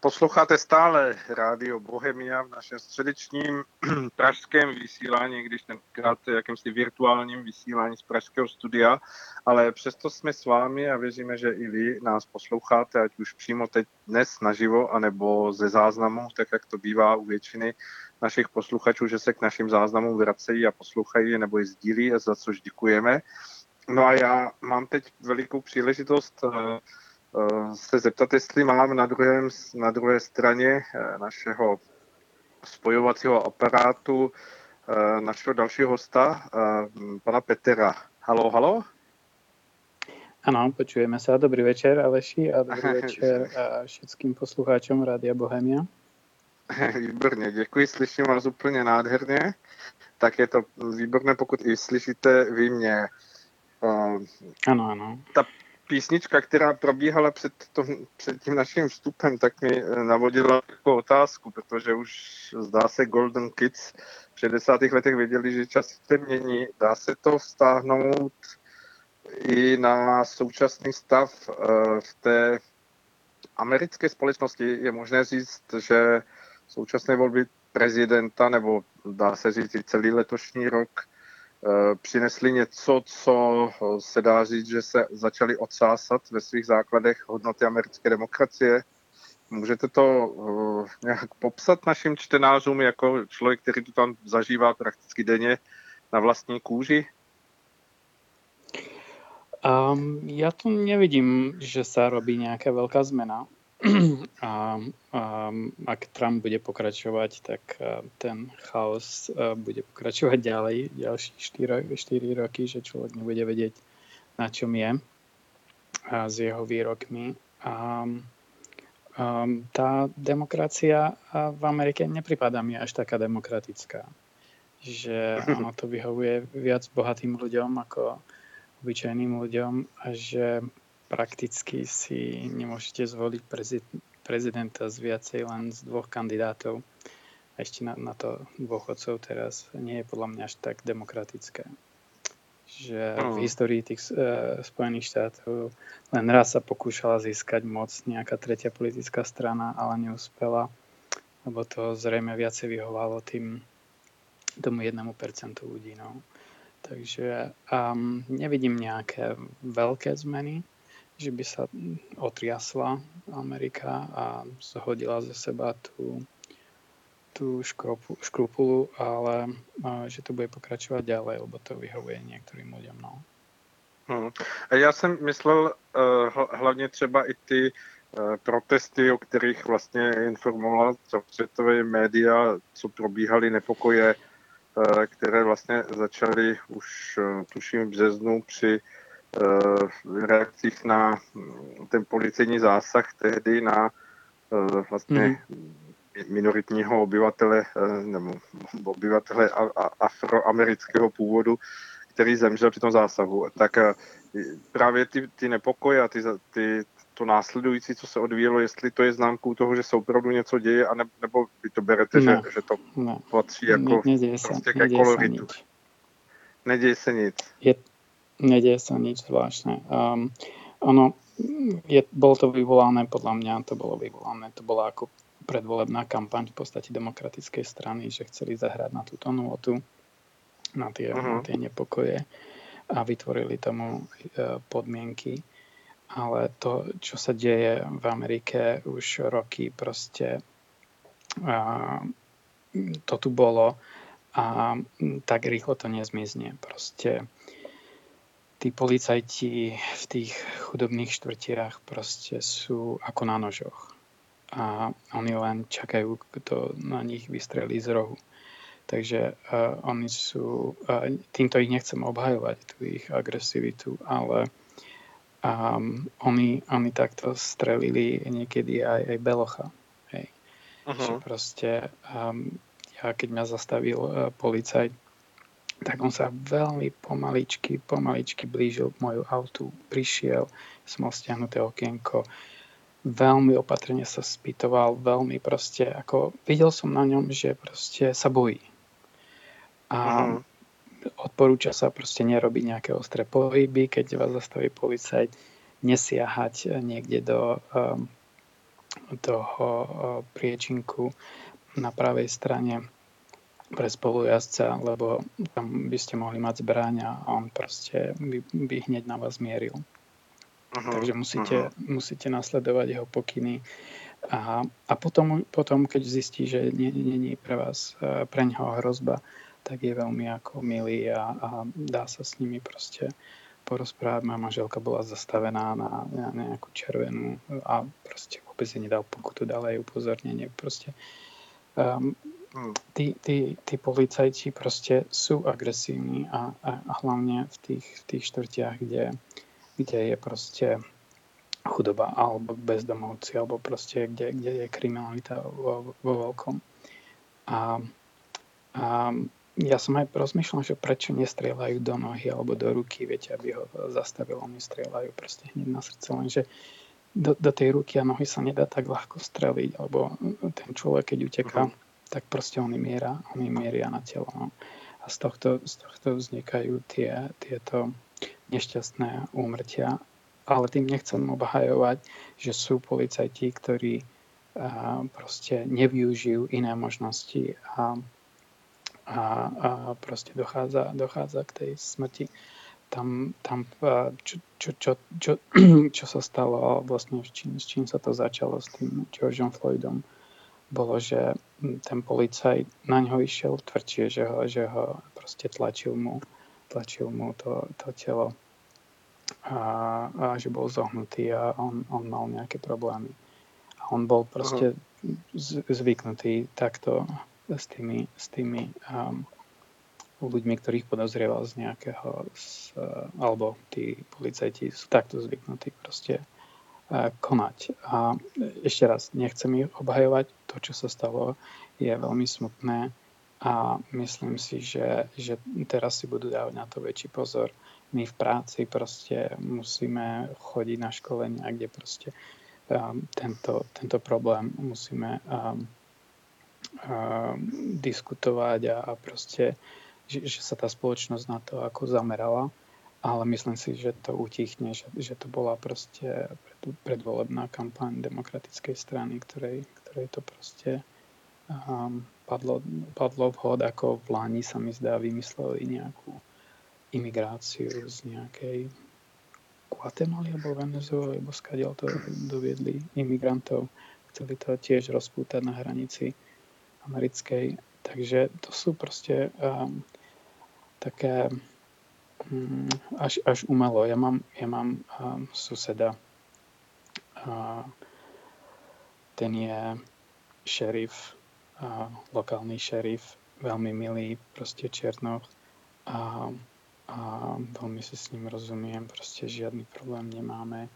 Posloucháte stále Rádio Bohemia v našem středečním pražském vysílání, když tenkrát jakýmsi virtuálním vysílání z pražského studia, ale přesto jsme s vámi a věříme, že i vy nás posloucháte, ať už přímo teď dnes naživo, anebo ze záznamu, tak jak to bývá u většiny našich posluchačů, že se k našim záznamům vracejí a poslouchají nebo je sdílí, za což děkujeme. No a já mám teď velikou příležitost se zeptat, jestli mám na druhé straně našeho spojovacího aparátu našeho dalšího hosta, pana Petera. Haló, haló? Áno, počujeme sa. Dobrý večer, Aleši, a dobrý večer všetkým poslucháčom Rádia Bohemia. Výborně, děkuji, slyším vás úplně nádherně. Tak je to výborné, pokud i slyšíte vy mě. Ano, ano. Ta písnička, která probíhala před tím naším vstupem, tak mi navodila takovou otázku, protože už zdá se Golden Kids v 60. letech věděli, že čas se mění. Dá se to vztáhnout i na současný stav v té americké společnosti. Je možné říct, že současné volby prezidenta, nebo dá se říct i celý letošní rok, přinesli něco, co se dá říct, že se začali odsásat ve svých základech hodnoty americké demokracie. Můžete to nějak popsat našim čtenářům jako člověk, který to tam zažívá prakticky denně na vlastní kůži? Ja tu nevidím, že sa robí nejaká veľká zmena. Ak Trump bude pokračovať, tak ten chaos bude pokračovať ďalej ďalších 4 roky, že človek nebude vedieť, na čom je s jeho výrokmi. Tá demokracia v Amerike nepripadá mi až taká demokratická. Že ono to vyhovuje viac bohatým ľuďom ako obyčajným ľuďom a že prakticky si nemôžete zvoliť prezidenta z viacej len z 2 kandidátov. A ešte na to dôchodcov teraz nie je podľa mňa až tak demokratické. Že v histórii tých Spojených štátov len raz sa pokúšala získať moc nejaká tretia politická strana, ale neúspela, lebo to zrejme viacej vyhovalo tomu 1% ľudí. No. Takže nevidím nejaké veľké zmeny, že by sa otriasla Amerika a zhodila ze seba tú škrupulu, ale že to bude pokračovať ďalej, lebo to vyhovuje niektorým ľuďom. No. Já jsem myslel hlavně třeba i ty protesty, o kterých vlastně informovala celosvětové média, co probíhaly nepokoje, které vlastně začaly už tuším v březnu při reakcích na ten policejní zásah tehdy na vlastně minoritního obyvatele nebo obyvatele afroamerického původu, který zemřel při tom zásahu. Tak právě ty nepokoje a to následující, co se odvíjelo, jestli to je známkou toho, že se opravdu něco děje, nebo vy to berete, že to patří jako prostě ke koloritu. Neděje se nic. Nedeje sa nič zvláštne. Bolo to vyvolané, podľa mňa to bola ako predvolebná kampaň v podstate demokratickej strany, že chceli zahrať na túto nôtu, na tie nepokoje a vytvorili tomu podmienky. Ale to, čo sa deje v Amerike už roky, proste to tu bolo a tak rýchlo to nezmizne. Proste tí policajti v tých chudobných štvrtiach proste sú ako na nožoch. A oni len čakajú, kto na nich vystrelí z rohu. Takže oni sú... týmto ich nechcem obhajovať, tú ich agresivitu, ale oni takto strelili niekedy aj Belocha. Hej. Že proste... ja keď ma zastavil policajt, tak on sa veľmi pomaličky blížil k moju autu. Prišiel, som mal stiahnuté okienko, veľmi opatrne sa spýtoval, veľmi proste, ako videl som na ňom, že proste sa bojí. A odporúča sa proste nerobiť nejaké ostré pohyby, keď vás zastaví policajt, nesiahať niekde toho priečinku na pravej strane pre spolujazdca, lebo tam by ste mohli mať zbraň a on proste by hneď na vás mieril. Takže musíte nasledovať jeho pokyny a potom, keď zistí, že nie je pre ňoho hrozba, tak je veľmi ako milý a dá sa s nimi proste porozprávať. Moja manželka bola zastavená na nejakú červenú a proste vôbec jej nedal pokutu, dala jej upozornenie. Proste tí policajti proste sú agresívni a hlavne v tých štvrtiach, kde je proste chudoba alebo bezdomovci alebo proste kde je kriminalita vo veľkom. A ja som aj rozmýšľal, že prečo nestrieľajú do nohy alebo do ruky, viete, aby ho zastavilo, oni strieľajú proste hneď na srdce, lenže do tej ruky a nohy sa nedá tak ľahko streliť, alebo ten človek, keď uteká, tak proste oni mieria na telo. No. A z tohto vznikajú tieto nešťastné úmrtia. Ale tým nechcem obhajovať, že sú policajti, ktorí proste nevyužijú iné možnosti a proste dochádza k tej smrti. Tam čo sa stalo vlastne s čím sa to začalo s tým Georgeom Floydom, bolo, že ten policajt na ňo išiel tvrdšie, že ho proste tlačil mu to telo a že bol zohnutý a on mal nejaké problémy. A on bol proste zvyknutý takto s tými ľuďmi, ktorých podozrieval z nejakého, alebo tí policajti sú takto zvyknutí proste konať. A ešte raz, nechcem ich obhajovať. To, čo sa stalo, je veľmi smutné a myslím si, že teraz si budú dávať na to väčší pozor. My v práci proste musíme chodiť na školenia, kde proste tento problém musíme diskutovať a proste, že sa tá spoločnosť na to ako zamerala, ale myslím si, že to utichne, že to bola proste predvolebná kampaň demokratickej strany, ktorej to proste padlo vhod, ako v Lani sa mi zdá vymysleli nejakú imigráciu z nejakej Guatemaly alebo Venezuely, alebo skadiaľ to doviedli imigrantov. Chceli to tiež rozpútať na hranici americkej. Takže to sú proste také až umelo. Ja mám suseda, ten je šerif, lokálny šerif, veľmi milý, proste Černoch a veľmi si s ním rozumiem, proste žiadny problém nemáme.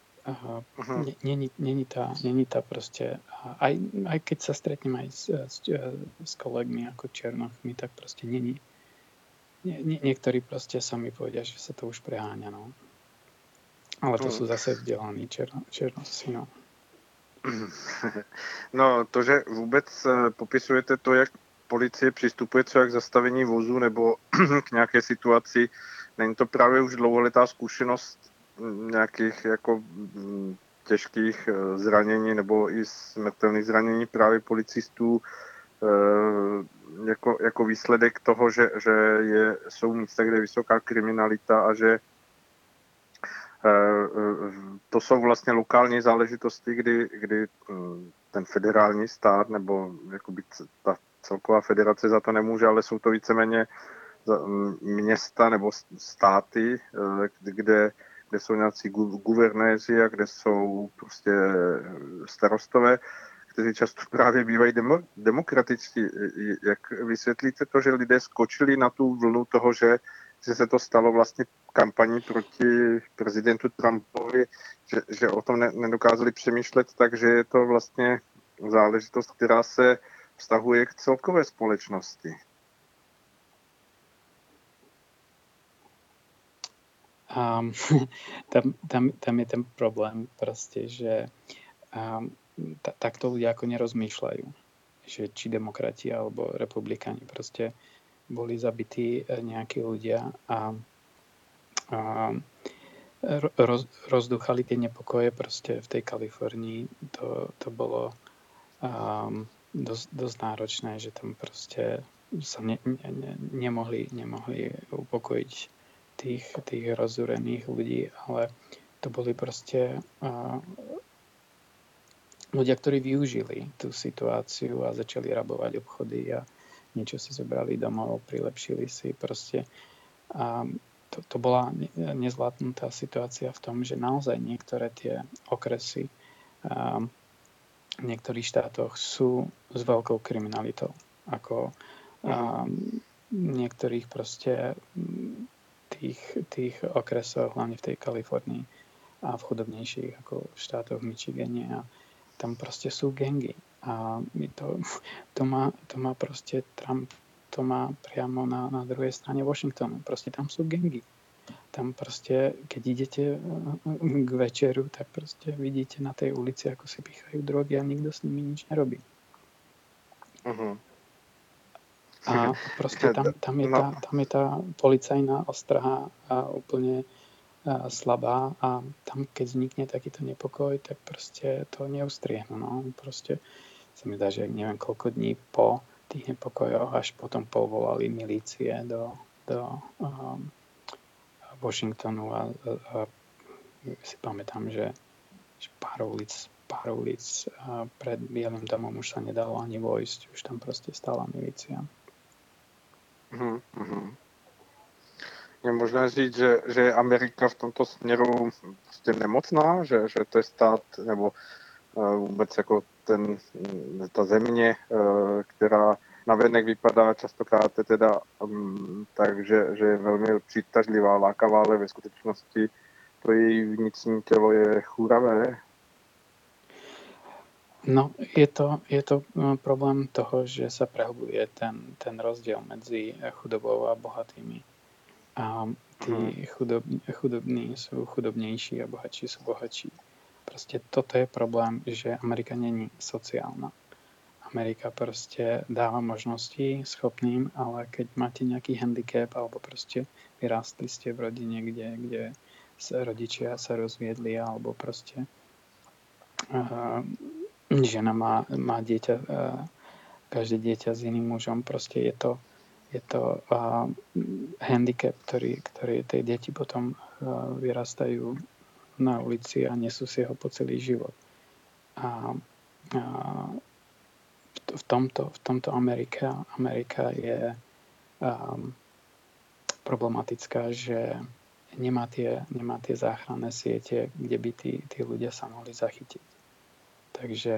Není tá proste, aj keď sa stretnem aj s kolegmi ako Černochmi, tak proste není. Niektorí proste sami povedia, že sa to už preháňa, no. Ale to sú zase vzdelaní Černovci, no. No, to, že vůbec popisujete to, jak policie přistupuje třeba k zastavení vozu nebo k nějaké situaci, není to právě už dlouholetá zkušenost nějakých jako těžkých zranění nebo i smrtelných zranění právě policistů jako výsledek toho, že jsou místa, kde je vysoká kriminalita a že to jsou vlastně lokální záležitosti, kdy ten federální stát nebo jakoby ta celková federace za to nemůže, ale jsou to víceméně města nebo státy, kde jsou nějací guvernéři a kde jsou prostě starostové, kteří často právě bývají demokratičtí. Jak vysvětlíte to, že lidé skočili na tu vlnu toho, že se to stalo vlastně kampaní proti prezidentu Trumpovi, že o tom nedokázali přemýšlet, takže je to vlastně záležitost, která se vztahuje k celkové společnosti. Tam je ten problém proste, že takto ľudia ako nerozmýšľajú, že či demokrati alebo republikáni proste boli zabití nejakí ľudia a rozduchali tie nepokoje proste v tej Kalifornii. To bolo dosť náročné, že tam proste sa nemohli upokojiť tých rozúrených ľudí, ale to boli proste ľudia, ktorí využili tú situáciu a začali rabovať obchody a niečo si zobrali domov, prilepšili si proste. A to bola nezvládnutá situácia v tom, že naozaj niektoré tie okresy v niektorých štátoch sú s veľkou kriminalitou. Ako niektorých proste tých okresoch, hlavne v tej Kalifornii a v chudobnejších ako v štátoch v Michigane, a tam proste sú gangy. A to má proste Trump, to má priamo na druhej strane Washingtonu. Proste tam sú gangy. Tam proste, keď idete k večeru, tak proste vidíte na tej ulici, ako si pýchajú drogy a nikto s nimi nič nerobí. A proste tam je tá policajná ostraha úplne slabá a tam, keď vznikne takýto nepokoj, tak proste to neustriehnú. No. Proste sa mi zdá, že neviem koľko dní po tých nepokojoch až potom povolali milície do Washingtonu a si pamätám, že pár ulic pred Bielým domom už sa nedalo ani vojsť, už tam proste stála milícia. Je možné říct, že je Amerika v tomto směru prostě nemocná, že to je stát, nebo vůbec jako ta země, která navenek vypadá častokrát teda takže je velmi přitažlivá, lákavá, ale ve skutečnosti to její vnitřní tělo je chůravé. No, je to problém toho, že sa prehlbuje ten rozdiel medzi chudobou a bohatými. A tí chudobní sú chudobnejší a bohatší sú bohatší. Proste toto je problém, že Amerika není sociálna. Amerika proste dáva možnosti schopným, ale keď máte nejaký handicap alebo proste vyrástli ste v rodine, kde rodičia sa rozviedli alebo proste žena má dieťa, každé dieťa s iným mužom, proste je to handicap, ktorý tie deti potom vyrastajú na ulici a nesú si ho po celý život. A v tomto Amerika je problematická, že nemá tie záchranné siete, kde by tí ľudia sa mohli zachytiť. Takže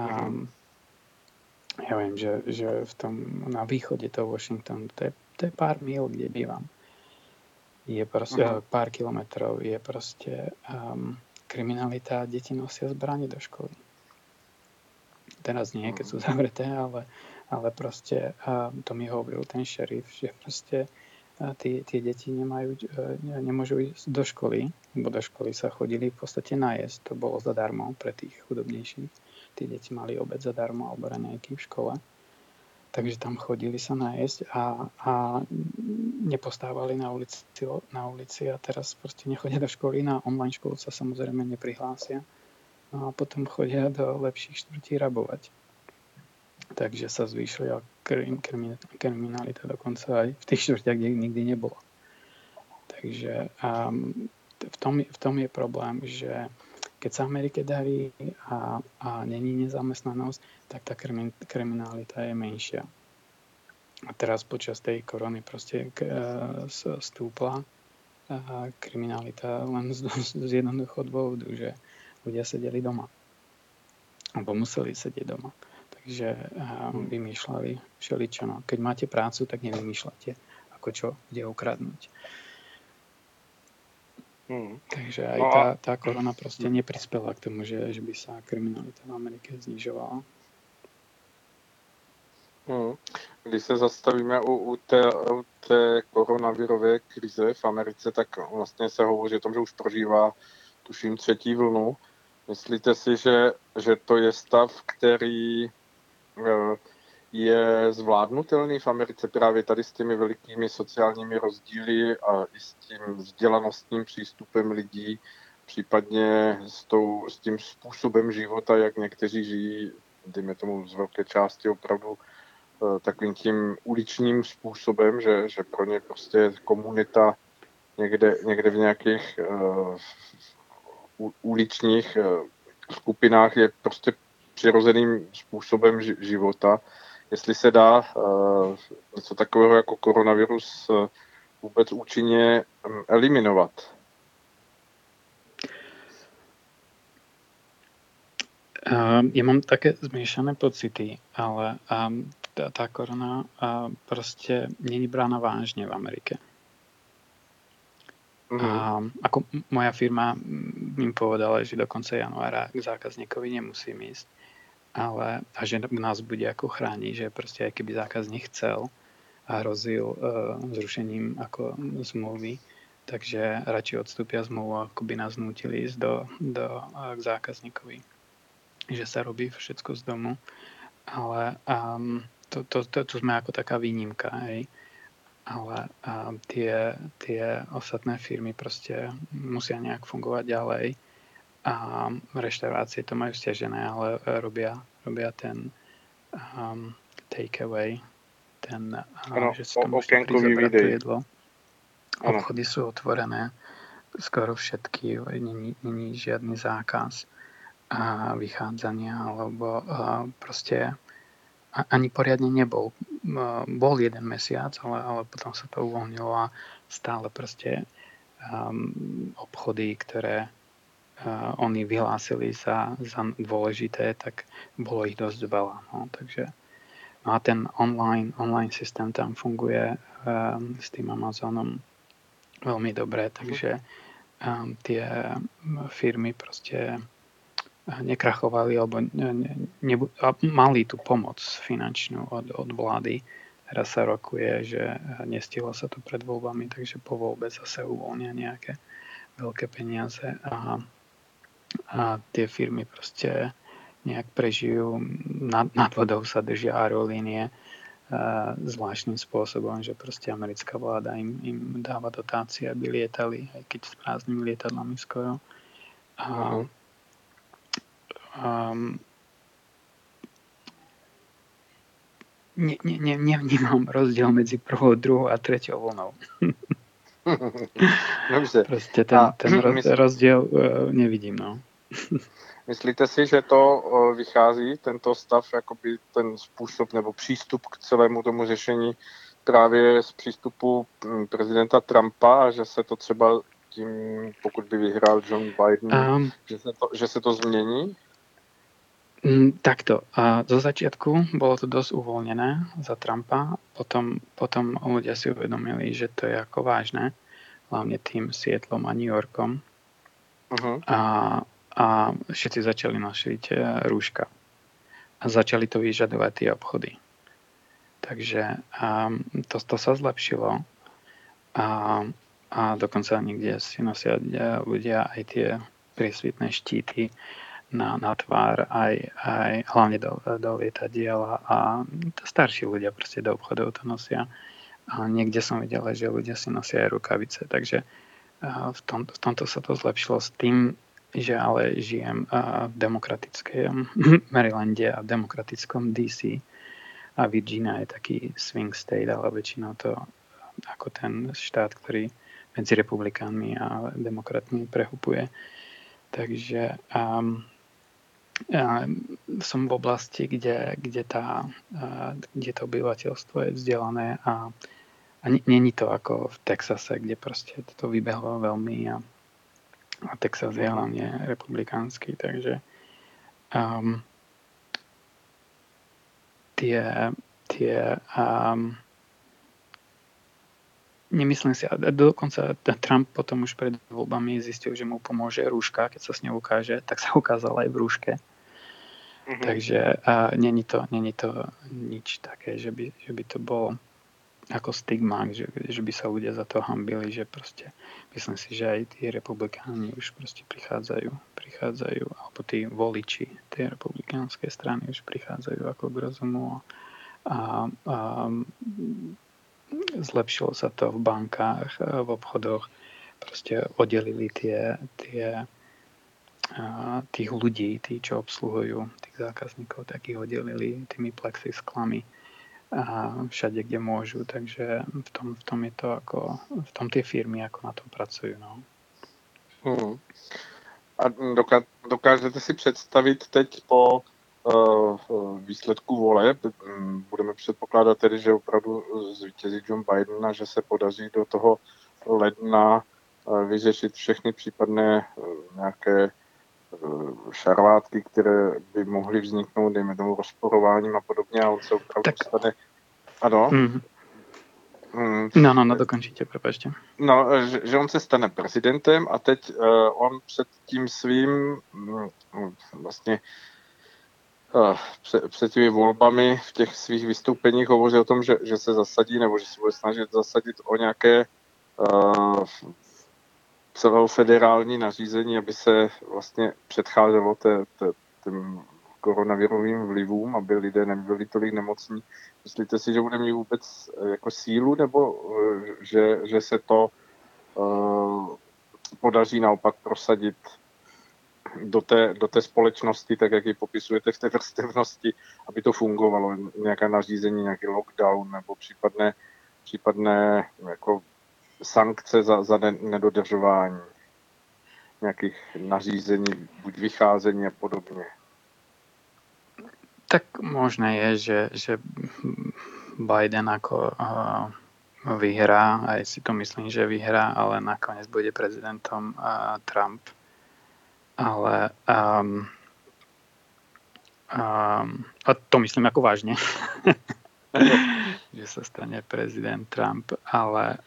ja viem, že na východe toho Washingtonu, to je pár míl, kde bývam. Je proste pár kilometrov, je proste kriminalita, deti nosia zbrane do školy. Teraz nie, keď sú zavreté, ale proste to mi hovoril ten šerif, že proste tie deti nemôžu ísť do školy, lebo do školy sa chodili v podstate najesť. To bolo zadarmo pre tých chudobnejších. Tí deti mali obed zadarmo alebo raňajky v škole. Takže tam chodili sa najesť a nepostávali na ulici a teraz proste nechodia do školy. Na online školu sa samozrejme neprihlásia. No a potom chodia do lepších štvrtí rabovať. Takže sa zvýšila kriminalita dokonca aj v tých štvrtiach, kde nikdy nebolo. Takže v tom je problém, že keď sa Amerike darí a není nezamestnanosť, tak tá kriminalita je menšia. A teraz počas tej korony proste stúpla kriminalita len z jednoduchého dôvodu, že ľudia sedeli doma. Alebo museli sedieť doma. Takže vymýšľali všeličo. No. Keď máte prácu, tak nevymýšľate, ako čo kde ukradnúť. Takže aj tá korona proste neprispela k tomu, že by sa kriminalita v Amerike znižovala. Když se zastavíme u té koronavirové krize v Americe, tak vlastně se hovoří o tom, že už prožívá, tuším, 3. vlnu. Myslíte si, že to je stav, který je zvládnutelný v Americe právě tady s těmi velikými sociálními rozdíly a i s tím vzdělanostním přístupem lidí, případně s tím způsobem života, jak někteří žijí, dejme tomu z velké části opravdu takovým tím uličním způsobem, že pro ně prostě komunita někde v nějakých uličních skupinách je prostě přirozeným způsobem života. Jestli se dá něco takového jako koronavirus vůbec účinně eliminovat. Ja mám také zmiešané pocity, ale tá korona proste není brána vážne v Amerike. A ako moja firma im povedala, že do konca januára k zákazníkovi nemusím ísť, ale a že nás bude ako chrániť, že proste aj keby zákazník chcel a hrozil zrušením ako zmluvy, takže radšej odstúpia zmluvu, ako by nás nútili ísť k zákazníkovi, že sa robí všetko z domu, ale to sme ako taká výnimka, hej. Ale tie ostatné firmy proste musia nejak fungovať ďalej a reštaurácie to majú stiažené, ale robia ten take away, že si tam môžete prísť zobrať to jedlo. Obchody sú otvorené, skoro všetky, není žiadny zákaz a vychádzania, alebo proste ani poriadne nebol. Bol jeden mesiac, ale potom sa to uvoľnilo a stále proste obchody, ktoré oni vyhlásili za dôležité, tak bolo ich dosť veľa. No, takže, a ten online systém tam funguje s tým Amazonom veľmi dobre, takže tie firmy proste nekrachovali alebo mali tú pomoc finančnú od vlády. Teraz sa rokuje, že nestihlo sa to pred voľbami, takže po voľbe zase uvoľnia nejaké veľké peniaze a tie firmy proste nejak prežijú. Nad vodou sa držia aerolínie zvláštnym spôsobom, že proste americká vláda im dáva dotácie, aby lietali, aj keď s prázdnymi lietadlami skoro. Nevnímam rozdiel medzi prvou, druhou a treťou vlnou. Dobře. Prostě ten rozdiel nevidím. No. Myslíte si, že to vychází, tento stav, jakoby ten způsob nebo přístup k celému tomu řešení právě z přístupu prezidenta Trumpa a že se to třeba tím, pokud by vyhrál John Biden, že se to změní? Takto. Zo začiatku bolo to dosť uvoľnené za Trumpa, potom ľudia si uvedomili, že to je ako vážne, hlavne tým Seattlom a New Yorkom. A všetci začali nosiť rúška. A začali to vyžadovať tie obchody. Takže to sa zlepšilo. A dokonca niekde si nosia ľudia aj tie priesvitné štíty na tvár, aj hlavne do lietadiel a starší ľudia proste do obchodov to nosia. A niekde som videl, že ľudia si nosia aj rukavice, takže v tomto sa to zlepšilo s tým, že ale žijem v demokratickom Marylande a v demokratickom DC a Virginia je taký swing state, ale väčšinou to ako ten štát, ktorý medzi republikánmi a demokratmi prehupuje. Takže som v oblasti, kde to obyvateľstvo je vzdelané a není to ako v Texase, kde proste to vybehlo veľmi a Texas je hlavne republikánsky, takže nemyslím si, a dokonca Trump potom už pred voľbami zistil, že mu pomôže rúška, keď sa s ňou ukáže, tak sa ukázal aj v rúške. Takže není to nič také, že by to bolo ako stigma, že by sa ľudia za to hanbili, že proste myslím si, že aj tí republikáni už proste prichádzajú, alebo tí voliči tej republikánskej strany už prichádzajú ako k rozumu a zlepšilo sa to v bankách, v obchodoch. Proste oddelili tých ľudí, tí, čo obsluhujú tých zákazníkov, tak ich oddelili tými plexisklami a všade, kde môžu. Takže v tom je to ako, v tom tie firmy ako na tom pracujú. No. A dokážete si představit teď po výsledku voleb, budeme předpokládat tedy, že opravdu zvítězí Joe Biden a že se podaří do toho ledna vyřešit všechny případné nějaké šarvátky, které by mohly vzniknout, dejme tomu rozporováním a podobně, a on se opravdu stane... Ano? No, dokončíte, prepáčte. No, že on se stane prezidentem a teď on před tím svým vlastně před těmi volbami v těch svých vystoupeních hovoří o tom, že se zasadí, nebo že se bude snažit zasadit o nějaké celofederální nařízení, aby se vlastně předcházelo těm koronavirovým vlivům, aby lidé nebyli tolik nemocní. Myslíte si, že bude mít vůbec jako sílu, nebo že se to podaří naopak prosadit do té společnosti, tak jak ji popisujete v té vrstevnosti, aby to fungovalo, nějaké nařízení, nějaký lockdown nebo případné jako sankce za nedodržování nějakých nařízení, buď vycházení a podobně. Tak možné je, že Biden ako vyhrá, aj si to myslím, že vyhrá, ale nakoniec bude prezidentom Trump. Ale a to myslím ako vážne, že sa stane prezident Trump, ale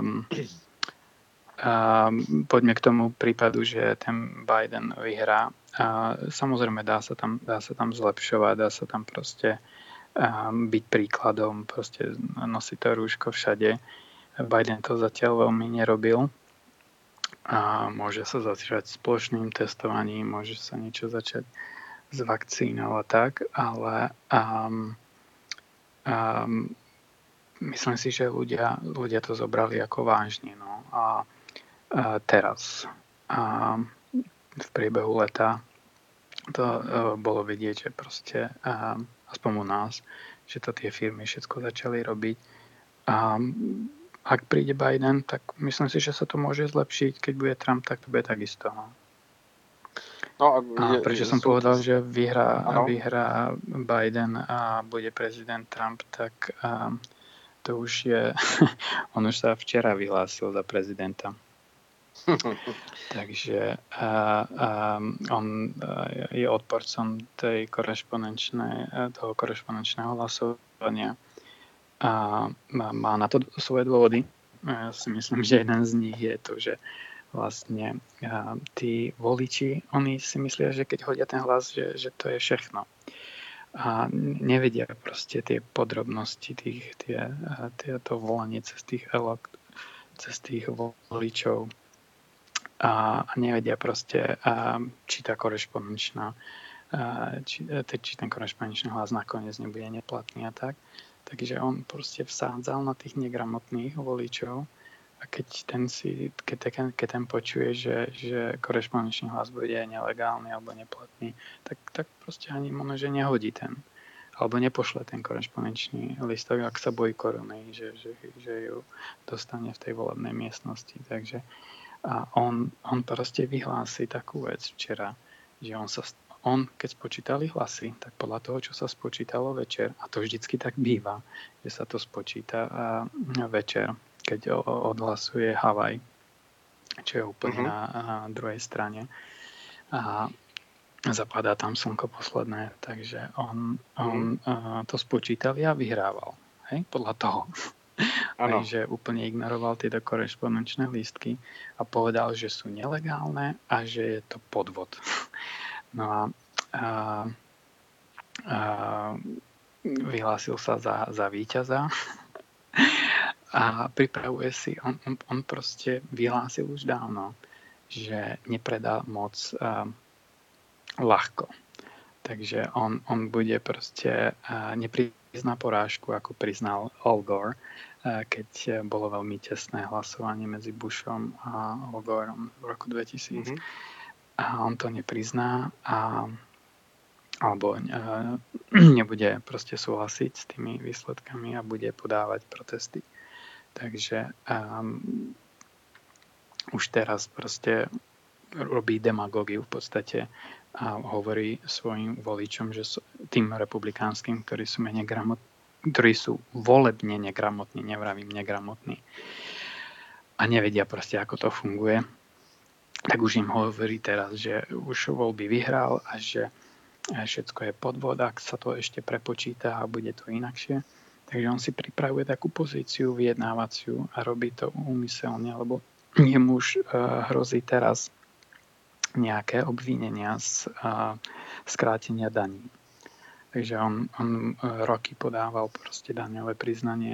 poďme k tomu prípadu, že ten Biden vyhrá. Samozrejme dá sa tam zlepšovať, dá sa tam proste byť príkladom, proste nosiť to rúško všade. Biden to zatiaľ veľmi nerobil. A môže sa začať s plošným testovaním, môže sa niečo začať s vakcínou a tak, ale myslím si, že ľudia to zobrali ako vážne. No. A teraz v priebehu leta to bolo vidieť, že proste aspoň u nás, že to tie firmy všetko začali robiť. Ak príde Biden, tak myslím si, že sa to môže zlepšiť. Keď bude Trump, tak to bude takisto. No a prečo som povedal, že vyhrá Biden a bude prezident Trump, tak to už je... On už sa včera vyhlásil za prezidenta. Takže on je odporcom toho korešpondenčného hlasovania. A má na to svoje dôvody. Ja si myslím, že jeden z nich je to, že vlastne tí voliči, oni si myslia, že keď hodia ten hlas, že to je všechno. A nevedia proste tie podrobnosti, to volanie cez tých voličov. A nevedia proste, či tá korešpondenčná či ten korešpondenčný hlas nakoniec nebude neplatný a tak. Takže on proste vsádzal na tých negramotných voličov a keď ten počuje, že korešpondenčný hlas bude nelegálny alebo neplatný, tak proste ani možno, že nehodí ten. Alebo nepošle ten korešpondenčný listok, ak sa bojí korony, že ju dostane v tej volebnej miestnosti. Takže a on proste vyhlási takú vec včera, že on, keď spočítali hlasy, tak podľa toho, čo sa spočítalo večer, a to vždycky tak býva, že sa to spočíta večer, keď odhlasuje Havaj, čo je úplne na druhej strane. A zapadá tam slnko posledné, takže on to spočítali a vyhrával. Hej? Podľa toho. Aj, že úplne ignoroval tieto korešpondenčné lístky a povedal, že sú nelegálne a že je to podvod. No a vyhlásil sa za víťaza a pripravuje si, on proste vyhlásil už dávno, že nepredá moc ľahko. Takže on bude proste, nepríde prizná porážku, ako priznal Al Gore, keď bolo veľmi tesné hlasovanie medzi Bushom a Al Goreom v roku 2000. Mhm. A on to neprizná alebo nebude proste súhlasiť s tými výsledkami a bude podávať protesty. Takže už teraz proste robí demagógiu v podstate a hovorí svojim voličom, že tým republikánskym, ktorí sú menej gramotní, ktorí sú volebne negramotní, nevravím negramotní a nevedia proste, ako to funguje, tak už im hovorí teraz, že už voľby vyhral a že všetko je podvod, ak sa to ešte prepočíta a bude to inakšie. Takže on si pripravuje takú pozíciu vyjednávaciu a robí to úmyselne, lebo jemu už hrozí teraz nejaké obvinenia z skrátenia daní. Takže on roky podával proste daňové priznania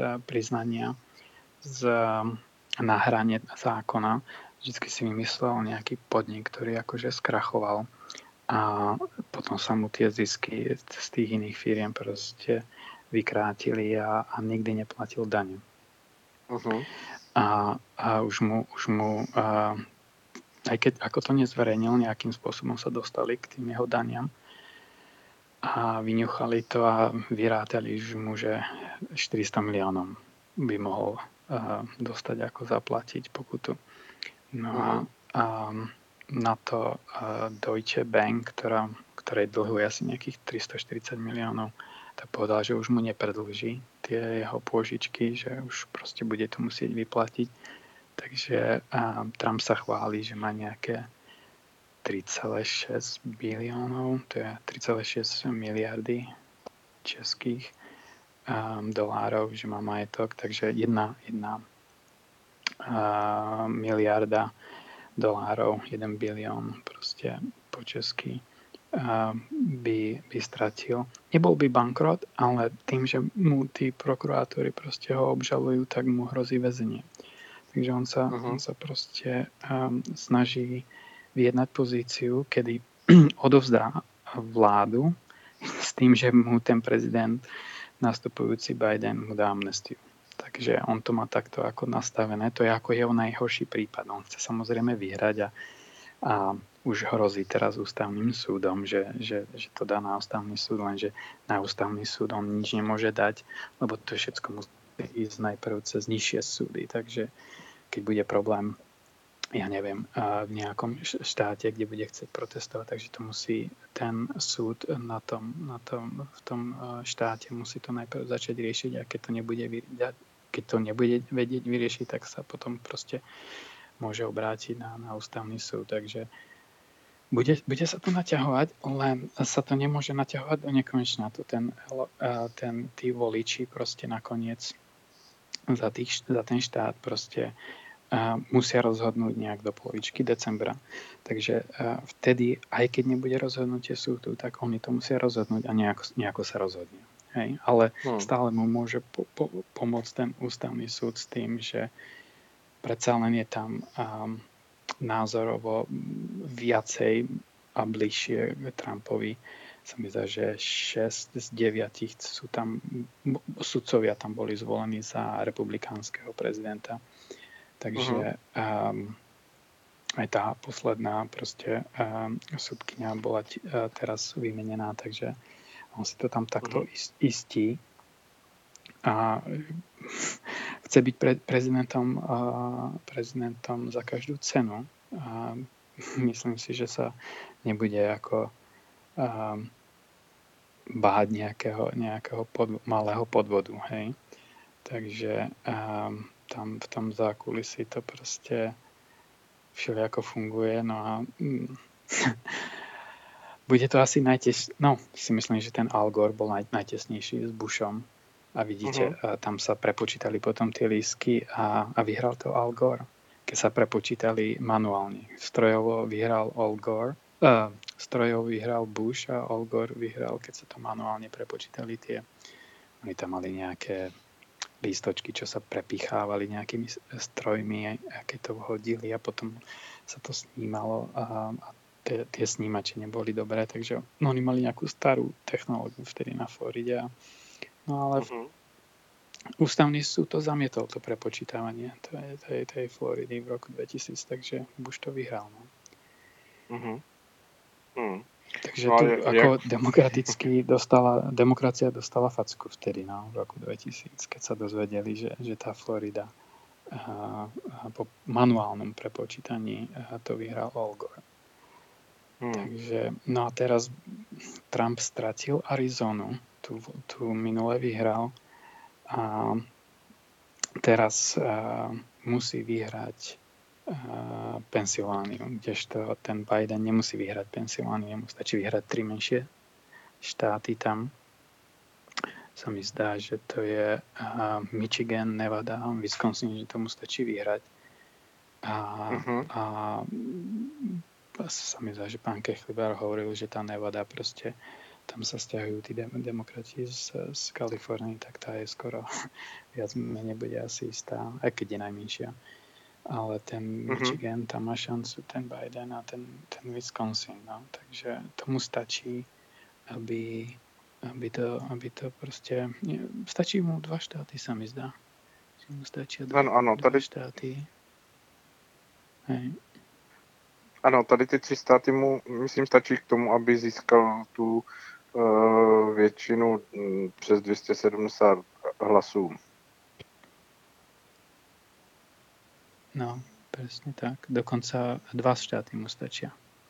na hrane zákona. Vždycky si vymyslel nejaký podnik, ktorý akože skrachoval a potom sa mu tie zisky z tých iných firiem proste vykrátili a nikdy neplatil daň. Uh-huh. A už mu aj keď ako to nezverejnil, nejakým spôsobom sa dostali k tým jeho daniam a vyňuchali to a vyrátali mu, že 400 miliónov by mohol dostať ako zaplatiť pokutu. No a na to Deutsche Bank, ktorej dlhuje asi nejakých 340 miliónov, tak povedal, že už mu nepredlží tie jeho pôžičky, že už proste bude to musieť vyplatiť. Takže Trump sa chváli, že má nejaké 3,6 biliónov, to je 3,6 miliardy českých dolárov, že má majetok, takže jedna miliarda dolárov, 1 bilión proste po česky by stratil. Nebol by bankrot, ale tým, že mu tí prokurátori proste ho obžalujú, tak mu hrozí väzenie. Takže on sa proste snaží vyjednať pozíciu, kedy odovzdá vládu s tým, že mu ten prezident nastupujúci Biden mu dá amnestiu. Takže on to má takto ako nastavené. To je ako jeho najhorší prípad. On chce samozrejme vyhrať a už hrozí teraz ústavným súdom, že to dá na ústavný súd, lenže na ústavný súd on nič nemôže dať, lebo to všetko musí ísť najprv cez nižšie súdy. Takže keď bude problém, ja neviem, v nejakom štáte, kde bude chcieť protestovať, takže to musí ten súd v tom štáte musí to najprv začať riešiť a keď to nebude vedieť vyriešiť, tak sa potom proste môže obrátiť na ústavný súd. Takže bude sa to naťahovať, len sa to nemôže naťahovať do nekonečna. Tí voliči proste nakoniec za ten štát proste musia rozhodnúť nejak do polovičky decembra. Takže vtedy, aj keď nebude rozhodnutie súdu, tak oni to musia rozhodnúť a nejako sa rozhodne. Hej? Ale stále mu môže pomôcť ten ústavný súd s tým, že predsa len je tam názorovo viacej a bližšie k Trumpovi. Sa mi zdá, že 6 z 9 sudcovia tam boli zvolení za republikánskeho prezidenta. Takže aj tá posledná proste sudkyňa bola teraz vymenená, takže on si to tam takto istí a chce byť prezidentom za každú cenu a myslím si, že sa nebude ako báť nejakého malého podvodu, hej. Takže tam v tom zákulisí to proste všelijako funguje, no a bude to asi si myslím, že ten Al Gore bol najtesnejší s Bushom a vidíte, tam sa prepočítali potom tie lístky a vyhral to Al Gore, keď sa prepočítali manuálne. Strojovo vyhral Al Gore, strojovo vyhral Bush a Al Gore vyhral, keď sa to manuálne prepočítali oni tam mali nejaké lístočky, čo sa prepichávali nejakými strojmi, keď to hodili a potom sa to snímalo a tie snímače neboli dobré, takže oni mali nejakú starú technológiu vtedy na Floride a No ale ústavný súd to zamietol, to prepočítavanie tej Floridy v roku 2000, takže Bush to vyhral. No. Takže No, tu ako demokracia dostala facku vtedy, no, v roku 2000, keď sa dozvedeli, že tá Florida po manuálnom prepočítaní to vyhral Al Gore. Takže, no a teraz Trump stratil Arizonu, tu minule vyhral a teraz musí vyhrať Pensylvániu, kdežto ten Biden nemusí vyhrať Pensylvániu, mu stačí vyhrať 3 menšie štáty tam. Sa mi zdá, že to je Michigan, Nevada, Wisconsin, že tomu stačí vyhrať. A sa mi zdá, že pán Kechlibar hovoril, že tá Nevada proste, tam sa stiahujú tí demokrati z Kalifornie, tak tá je skoro viac menej bude asi istá, aj keď je najmenšia. Ale ten Michigan, tam má šancu ten Biden a ten Wisconsin. No. Takže tomu stačí, aby to proste... Stačí mu 2 štáty, sa mi zdá. Že mu stačia 2 štáty. Hej. Ano, tady ty 3 státy mu, myslím, stačí k tomu, aby získal tu většinu přes 270 hlasů. No, presne tak. Dokonca 2 štáty mu stačia.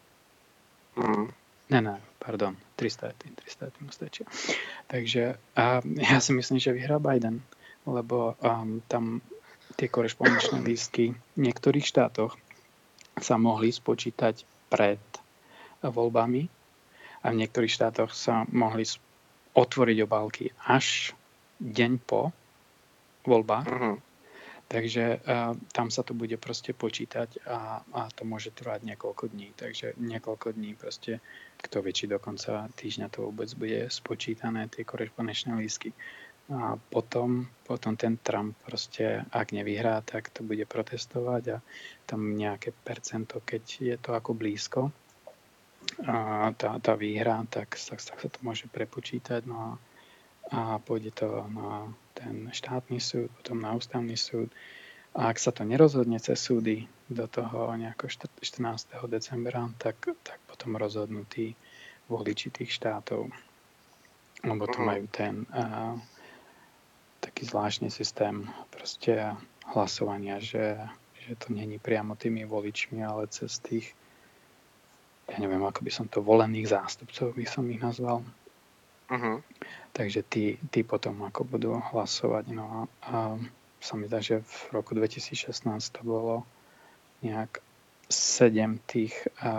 Pardon, 3 štáty mu stačia. Takže ja si myslím, že vyhrá Biden, lebo tam tie korešpondenčné lístky v niektorých štátoch sa mohli spočítať pred voľbami a v niektorých štátoch sa mohli otvoriť obálky až deň po voľbách. Takže tam sa to bude proste počítať a to môže trvať niekoľko dní. Takže niekoľko dní proste, kto vie, či do konca týždňa to vôbec bude spočítané, tie korešpondenčné lístky. A potom ten Trump proste, ak nevyhrá, tak to bude protestovať a tam nejaké percento, keď je to ako blízko, a tá výhra, tak sa to môže prepočítať. No a pôjde to na ten štátny súd, potom na ústavný súd. A ak sa to nerozhodne cez súdy do toho nejako 14. decembra, tak potom rozhodnú tí voliči tých štátov. Lebo to majú ten taký zvláštny systém proste hlasovania, že to není priamo tými voličmi, ale cez tých, ja neviem, ako by som to, volených zástupcov by som ich nazval. Takže tí potom ako budú hlasovať. No a sa mi zdá, že v roku 2016 to bolo nejak 7 tých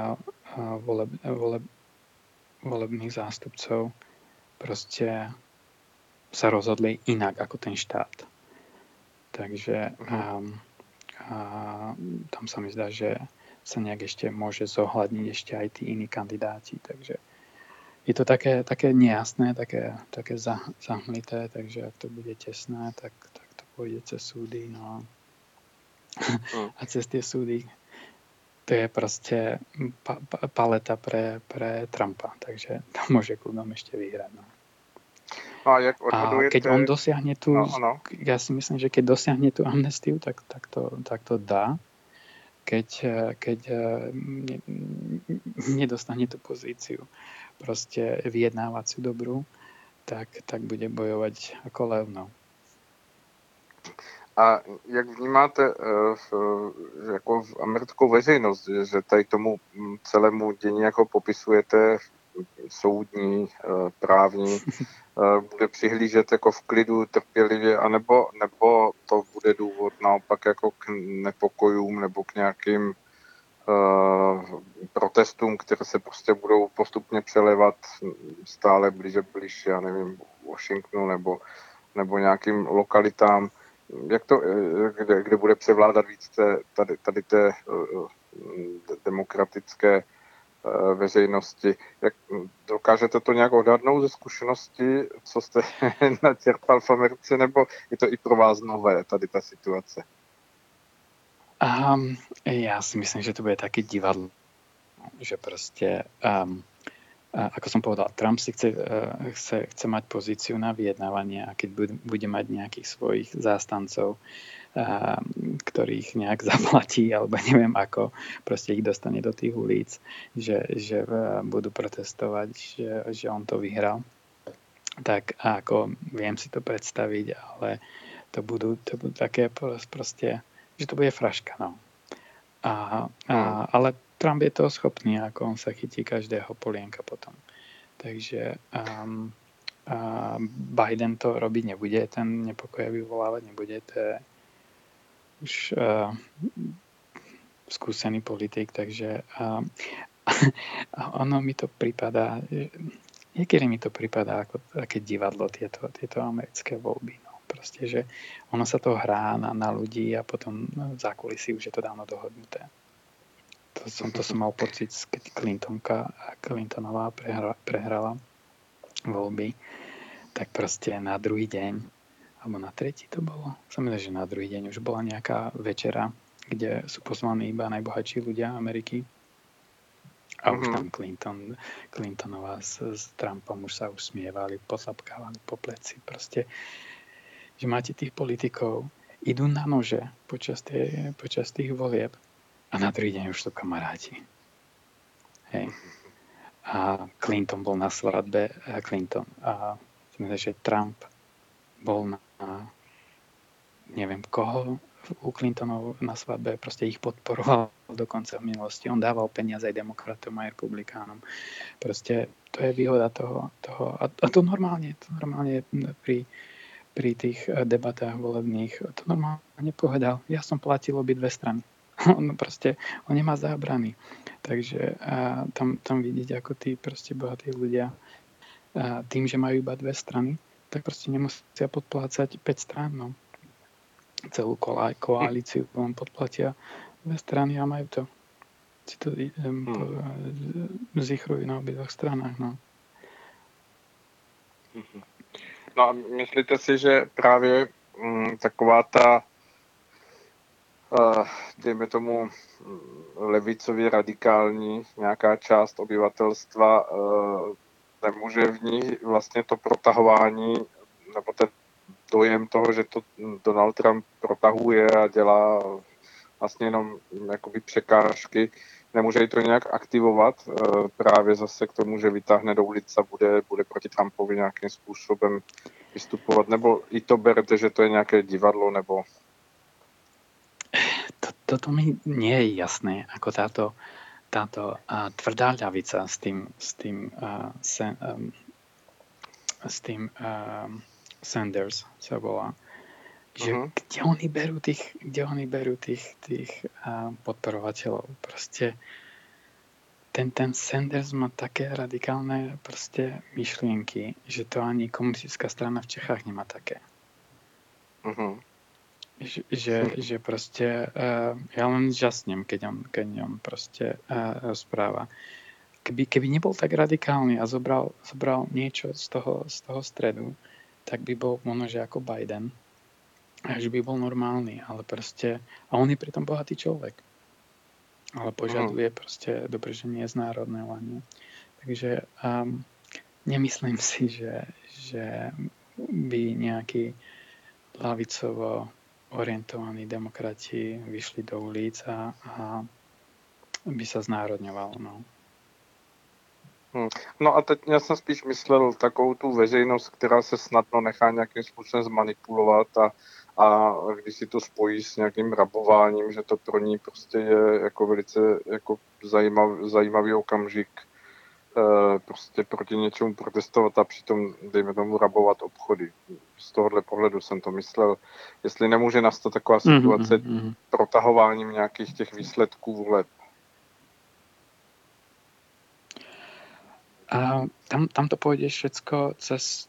volebných zástupcov proste sa rozhodli inak ako ten štát. Takže tam sa mi zdá, že sa nejak ešte môže zohľadniť ešte aj tí iní kandidáti. Takže je to také nejasné, také zahmlité, takže ak to bude tesné, tak to pôjde cez súdy. No. A cez tie súdy to je proste paleta pre Trumpa, takže to môže kľudom ešte vyhrať. No. A keď on dosiahne ja si myslím, že keď dosiahne tú amnestiu, tak to dá. Keď nedostane tú pozíciu proste vyjednávaciu dobrú, tak bude bojovať ako lev. No. A jak vnímáte jako v americkou veřejnost, že tady tomu celému dění jako popisujete soudní, právní, bude přihlížet jako v klidu, trpělivě, nebo to bude důvod naopak jako k nepokojům nebo k nějakým protestům, které se prostě budou postupně přelevat stále blíž, já nevím, Washingtonu nebo nějakým lokalitám, kde bude převládat víc tady té demokratické veřejnosti. Jak dokážete to nějak odhadnout ze zkušenosti, co jste načerpal v Americe, nebo je to i pro vás nové, tady ta situace? Ja si myslím, že to bude také divadlo, že proste ako som povedal, Trump si chce mať pozíciu na vyjednávanie, a keď bude mať nejakých svojich zástancov, ktorých nejak zaplatí, alebo neviem ako, proste ich dostane do tých ulic, že budú protestovať, že on to vyhral. Tak ako viem si to predstaviť, ale to budú také proste, že to bude fraška, no. Ale Trump je toho schopný, ako on sa chytí každého polienka potom. Takže Biden to robiť nebude, ten nepokoj vyvolávať nebude, to je už skúsený politik, takže ono mi to pripadá, niekedy mi to pripadá ako také divadlo, tieto americké voľby. No. Proste, že ono sa to hrá na ľudí a potom v zákulisí už je to dávno dohodnuté. To som mal pocit, keď Clintonová prehrala voľby, tak proste na druhý deň, alebo na tretí to bolo, som myslel, že na druhý deň už bola nejaká večera, kde sú pozvaní iba najbohatší ľudia Ameriky. A už tam Clintonová s Trumpom už sa usmievali, potlapkávali po pleci. Proste, že máte tých politikov, idú na nože počas tých volieb a na druhý deň už sú kamaráti. Hej. A Clinton bol na svadbe, že Trump bol na neviem koho u Clintonov na svadbe, proste ich podporoval dokonca v minulosti. On dával peniaze aj demokratom, aj republikánom. Proste to je výhoda toho a to normálne pri tých debatách volebných, to normálne povedal. Ja som platil obidve strany. On nemá zábrany. Takže tam vidieť, ako tí proste bohatí ľudia tým, že majú iba dve strany, tak proste nemusia podplácať 5 strán. No. Celú koalíciu vám podplatia dve strany a majú to. Si to zichrujú na obidvoch stranách. No. No a myslíte si, že právě taková ta dejme tomu levicově radikální nějaká část obyvatelstva nemůže v ní vlastně to protahování nebo ten dojem toho, že to Donald Trump protahuje a dělá vlastně jenom jakoby překážky, nemůže ji to nějak aktivovat právě zase k tomu, že vytáhne do ulic a bude proti Trumpovi nějakým způsobem vystupovat, nebo i to berte, že to je nějaké divadlo, nebo... Toto mi nie je jasné, ako táto tvrdá ľavica s tým Sanders sa volá, že kde oni berú tých podporovateľov. Proste ten Sanders má také radikálne proste myšlienky, že to ani komunistická strana v Čechách nemá také. Že proste ja len žasnem, keď on proste rozpráva. Keby nebol tak radikálny a zobral niečo z toho stredu, tak by bol možno, že ako Biden. Až by bol normálny, ale proste... A on je pritom bohatý človek. Ale požaduje proste dobrženie znárodňovania. Takže nemyslím si, že by nejakí ľavicovo orientovaní demokrati vyšli do ulic a by sa znárodňovalo. No a teď já jsem spíš myslel takovou tu veřejnost, která se snadno nechá nějakým způsobem zmanipulovat a když si to spojí s nějakým rabováním, že to pro ní prostě je jako velice jako zajímavý okamžik prostě proti něčemu protestovat a přitom, dejme tomu, rabovat obchody. Z tohohle pohledu jsem to myslel. Jestli nemůže nastat taková situace protahováním nějakých těch výsledků voleb. A tam to pôjde všetko cez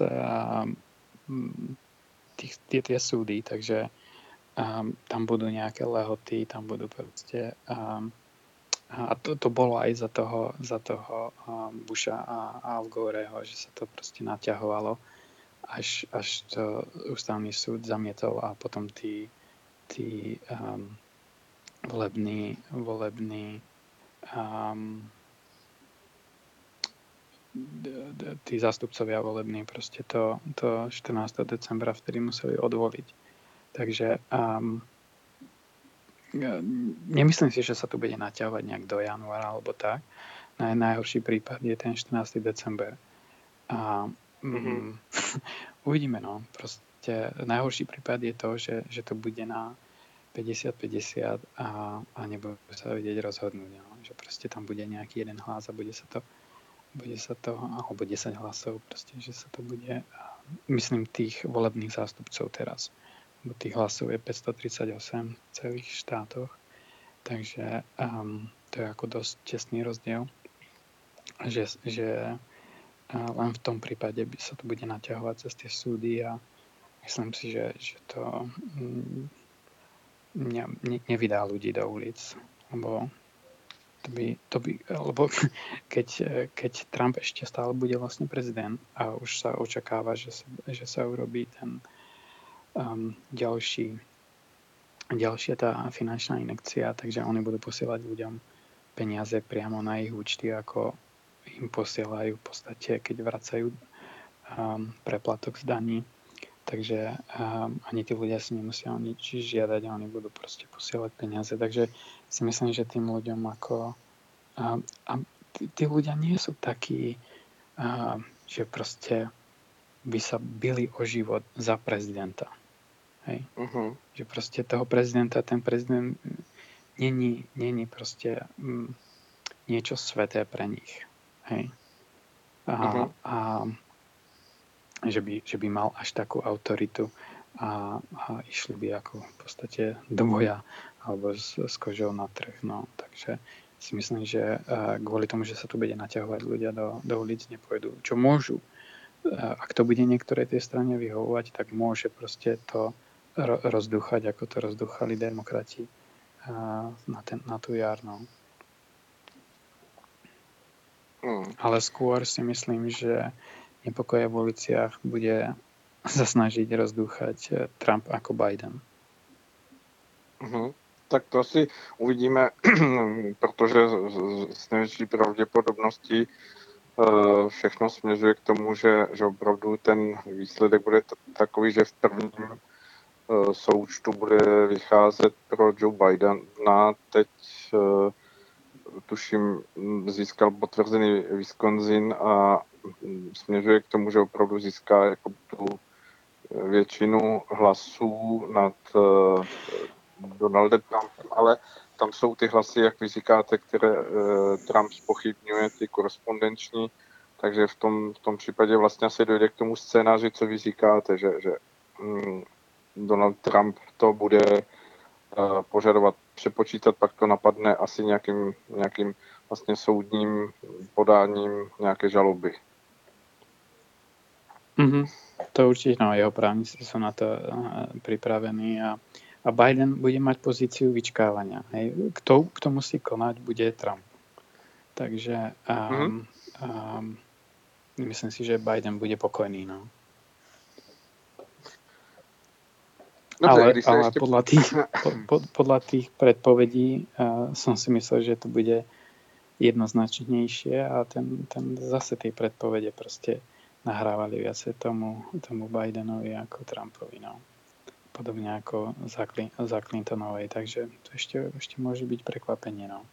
tie súdy, takže tam budú nejaké lehoty, tam budú proste a to bolo aj za toho Busha a Al Goreho, že sa to proste naťahovalo, až to ústavný súd zamietol a potom tí volební tí zástupcovia volební proste to 14. decembra vtedy museli odvoliť. Takže nemyslím si, že sa to bude naťahovať nejak do januára alebo tak. Najhorší prípad je ten 14. december. A uvidíme, no. Proste najhorší prípad je to, že to bude na 50-50 a nebude sa vedieť rozhodnúť. No. Že proste tam bude nejaký jeden hlas a bude sa to alebo 10 hlasov, proste, že sa to bude, myslím, tých volebných zástupcov teraz. Lebo tých hlasov je 538 v celých štátoch. Takže to je ako dosť tesný rozdiel. Že len v tom prípade sa to bude naťahovať cez tie súdy a myslím si, že to nevydá ľudí do ulic, lebo lebo keď Trump ešte stále bude vlastne prezident a už sa očakáva, že sa urobí ten ďalšia tá finančná injekcia, takže oni budú posielať ľuďom peniaze priamo na ich účty, ako im posielajú v podstate, keď vracajú preplatok z daní. Takže ani tí ľudia si nemusia o nič žiadať a oni budú proste posielať peniaze. Takže si myslím, že tým ľuďom ako... tí ľudia nie sú takí, že proste by sa bili o život za prezidenta. Hej? Že proste toho prezidenta, ten prezident není proste niečo sveté pre nich. Hej? A že by mal až takú autoritu a išli by ako v podstate do boja alebo s kožou na trh. No. Takže si myslím, že kvôli tomu, že sa tu bude naťahovať ľudia do ulic, nepôjdu. Čo môžu. Ak to bude niektorej tej strane vyhovovať, tak môže proste to rozdúchať, ako to rozdúchali demokrati na tú jar. No. Ale skôr si myslím, že nepokoje v uliciach bude sa snažiť rozdúchať Trump ako Biden. Tak to asi uvidíme, protože s největší pravděpodobností všechno směřuje k tomu, že opravdu ten výsledek bude takový, že v prvním součtu bude vycházet pro Joe Bidena. Teď tuším získal potvrzený Wisconsin a směřuje k tomu, že opravdu získá jako tu většinu hlasů nad Donaldem Trumpem, ale tam jsou ty hlasy, jak vy říkáte, které Trump zpochybňuje, ty korespondenční, takže v tom případě vlastně asi dojde k tomu scénáři, co vy říkáte, že Donald Trump to bude požadovat přepočítat, pak to napadne asi nějakým vlastně soudním podáním nějaké žaloby. To určite, no, jeho právnici sú na to pripravení a Biden bude mať pozíciu vyčkávania. Hej. Kto musí konať, bude Trump. Takže myslím si, že Biden bude pokojný. No. Dobre, ale podľa tých predpovedí som si myslel, že to bude jednoznačnejšie a ten zase tie predpovede proste nahrávali viacej tomu Bidenovi ako Trumpovi. No. Podobne ako za Clintonovej. Takže to ešte môže byť prekvapenie. No.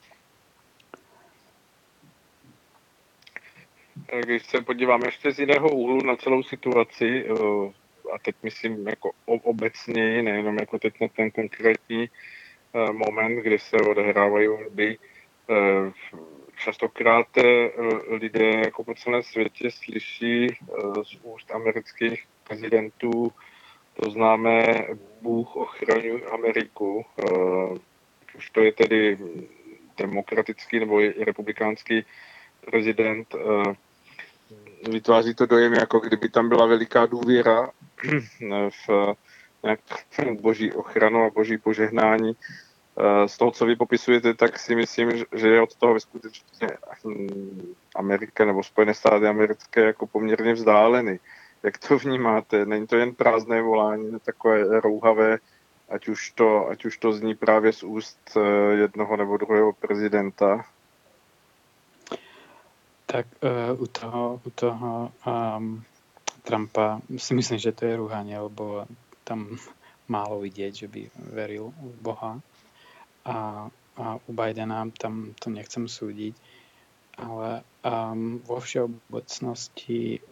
Když se podívám ještě z jiného úhlu na celou situaci, a teď myslím jako obecněji, nejenom jako teď na ten konkrétní moment, kdy se odehrávají volby, častokrát lidé jako po celém světě slyší z úst amerických prezidentů to známé Bůh ochraňuj Ameriku. Už to je tedy demokratický nebo republikánský prezident. Vytváří to dojem, jako kdyby tam byla veliká důvěra v nějakou boží ochranu a boží požehnání. Z toho, co vy popisujete, tak si myslím, že je od toho skutečně Amerika nebo Spojené státy americké jako poměrně vzdáleny. Jak to vnímáte? Není to jen prázdné volání, takové rouhavé, ať už to zní právě z úst jednoho nebo druhého prezidenta? Tak u toho Trumpa si myslím, že to je rúhanie, lebo tam málo vidieť, že by veril v Boha. A u Bidena tam to nechcem súdiť, ale vo všeobecnosti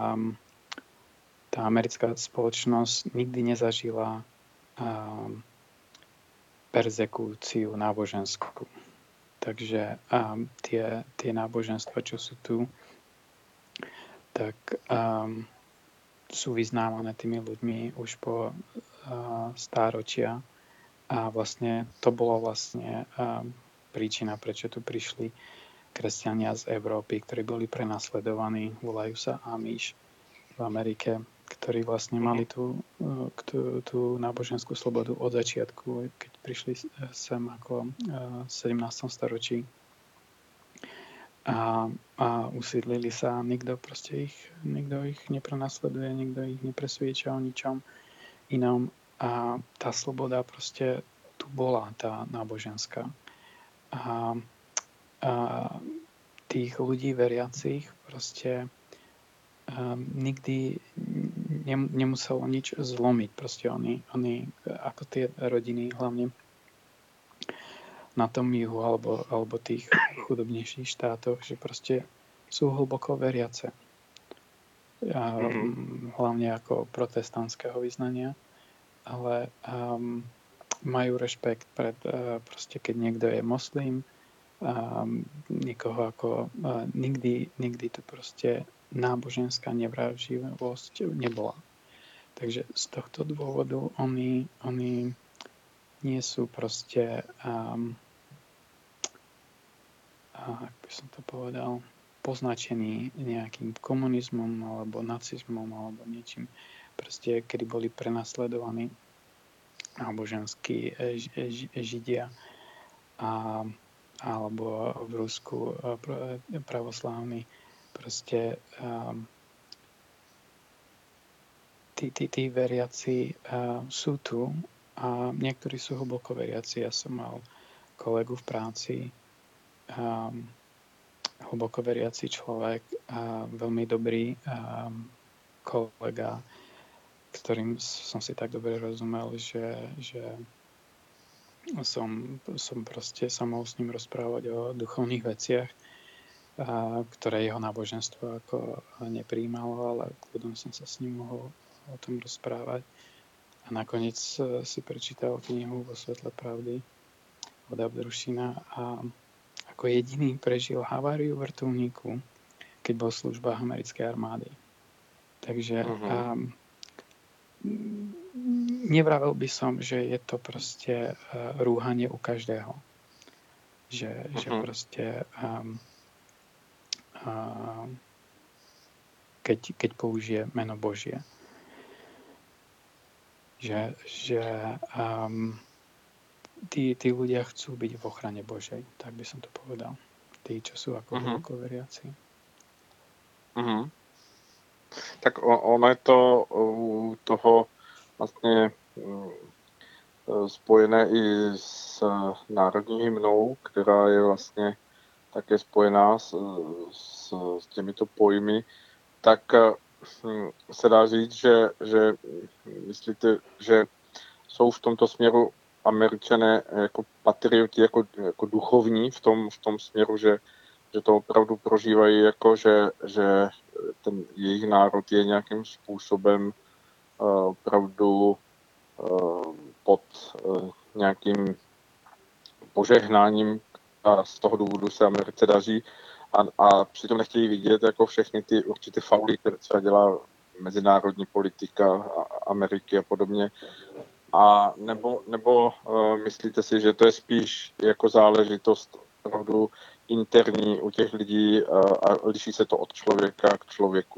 tá americká spoločnosť nikdy nezažila perzekúciu náboženskú. Takže tie náboženstva, čo sú tu, tak sú vyznávané tými ľuďmi už po stáročia a vlastne to bola vlastne príčina, prečo tu prišli kresťania z Európy, ktorí boli prenasledovaní, volajú sa Amish v Amerike, ktorí vlastne mali tú náboženskú slobodu od začiatku, keď prišli sem ako v 17. storočí a usídlili sa, nikto ich neprenasleduje, nikto ich nepresvieča o ničom inom a tá sloboda proste tu bola, tá náboženská. A tých ľudí veriacich proste nikdy nemuselo nič zlomiť. Proste oni ako tie rodiny, hlavne na tom juhu alebo tých chudobnejších štátoch, že proste sú hlboko veriace. Hlavne ako protestantského vyznania, ale majú rešpekt pred proste, keď niekto je moslim, nikoho ako nikdy to proste náboženská nevraživosť nebola. Takže z tohto dôvodu oni nie sú proste ak by som to povedal, poznačení nejakým komunizmom alebo nacizmom alebo niečím. Proste, kedy boli prenasledovaní náboženskí Židia alebo v Rusku pravoslávni, proste tí veriaci sú tu a niektorí sú hlboko veriaci. Ja som mal kolegu v práci, hlboko veriaci človek a veľmi dobrý kolega, ktorým som si tak dobre rozumel, že som proste sa mohol s ním rozprávať o duchovných veciach, ktoré jeho náboženstvo ako neprijímalo, ale kľudom som sa s ním mohol o tom rozprávať. A nakoniec si prečítal knihu Vo svetle pravdy od Abdrušina a ako jediný prežil haváriu vrtuľníku, keď bol v službách americkej armády. Takže nevravel by som, že je to proste rúhanie u každého. Že proste keď použije meno Božie. Že tí ľudia chcú byť v ochrane Božej, tak by som to povedal. Tí, čo sú ako hlboko veriaci. Tak ono je to u toho vlastně spojené i s národní hymnou, která je vlastně také spojená s těmito pojmy, tak se dá říct, že myslíte, že jsou v tomto směru Američané jako patrioti, jako duchovní v tom směru, že to opravdu prožívají jako, že ten jejich národ je nějakým způsobem opravdu pod nějakým požehnáním a z toho důvodu se Americe daří a přitom nechtějí vidět jako všechny ty určité fauly, které třeba dělá mezinárodní politika Ameriky a podobně. A nebo myslíte si, že to je spíš jako záležitost opravdu interní u těch lidí a liší se to od člověka k člověku?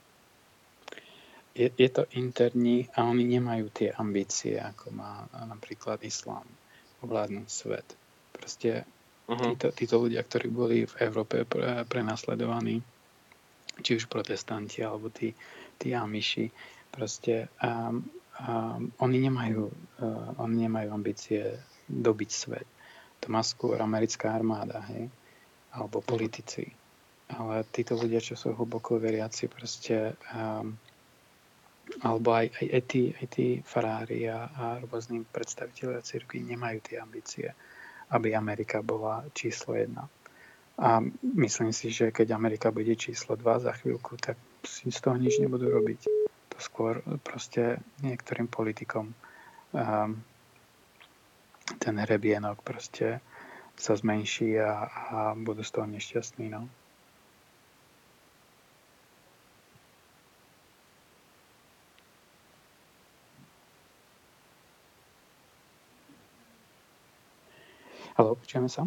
Je to interní a oni nemajú tie ambície, ako má napríklad islám, ovládnuť svet. Proste títo ľudia, ktorí boli v Európe prenasledovaní, či už protestanti alebo tí Amiši, proste oni nemajú ambície dobiť svet. To má skôr americká armáda, hej? Alebo politici. ale títo ľudia, čo sú hlboko veriaci, proste alebo aj tí farári a rôzni predstavitelia cirkvi nemajú tie ambície, aby Amerika bola číslo 1. A myslím si, že keď Amerika bude číslo 2 za chvíľku, tak si z toho nič nebudú robiť. To skôr proste niektorým politikom ten hrebienok proste sa zmenší a budú z toho nešťastní. No. Haló, počujeme sa?